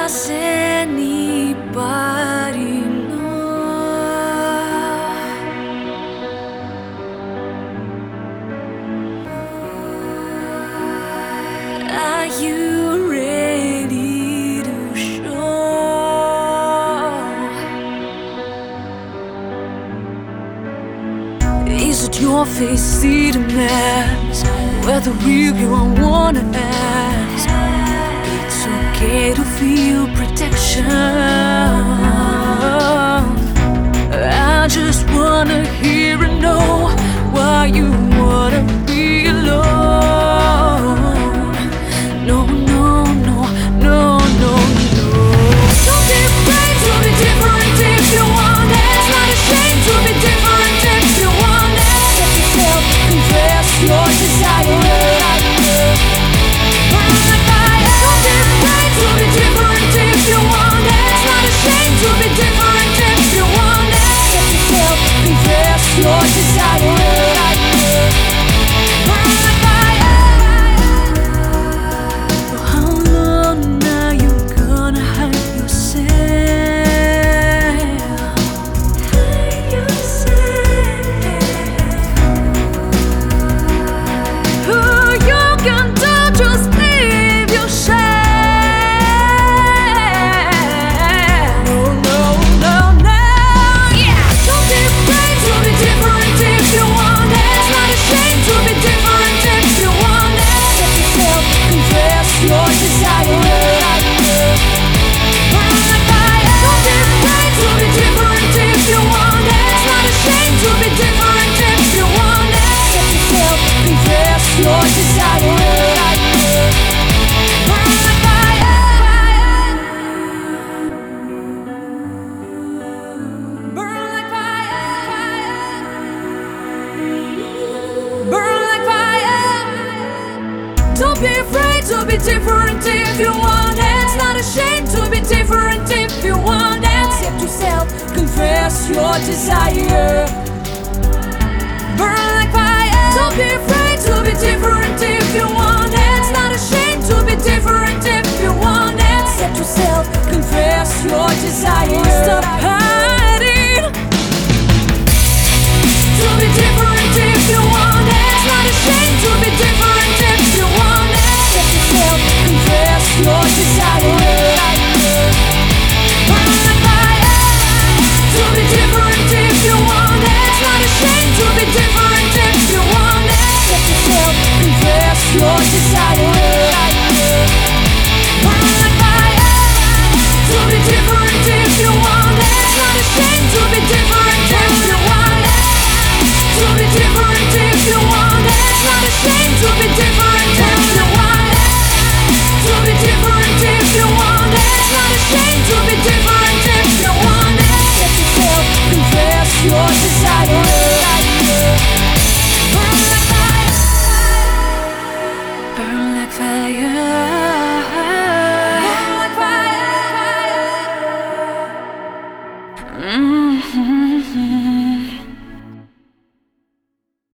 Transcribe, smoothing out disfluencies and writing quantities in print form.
Does anybody know? Are you ready to show? Is it your face, see the mask? Whether real you don't wanna ask. It's okay to feel protection. I just wanna hear and know why you wanna be alone. No, no, no, no, no, no. Don't be afraid to be different if you want it. It's not a shame to be different if you want it. Set yourself, confess your desire. Your desire, burn like fire. For how long are you gonna hide yourself? Hide yourself. Oh, you can do, just leave your shame. No, no, no, no. Yeah, don't be afraid to be different if you want it. It's not a shame to be different if you want it. Set yourself, confess your desire. Burn like fire. Don't be afraid to be different if you want it. It's not a shame to be different if you want it. Set yourself, confess your desire. Burn like fire. Burn like fire. Burn like fire. Don't be afraid to be different if you want it. It's not a shame to be different if you want it. Set yourself, confess your desire. Burn like fire. Don't be afraid to be different if you want it. It's not a shame to be different if you want it. Set yourself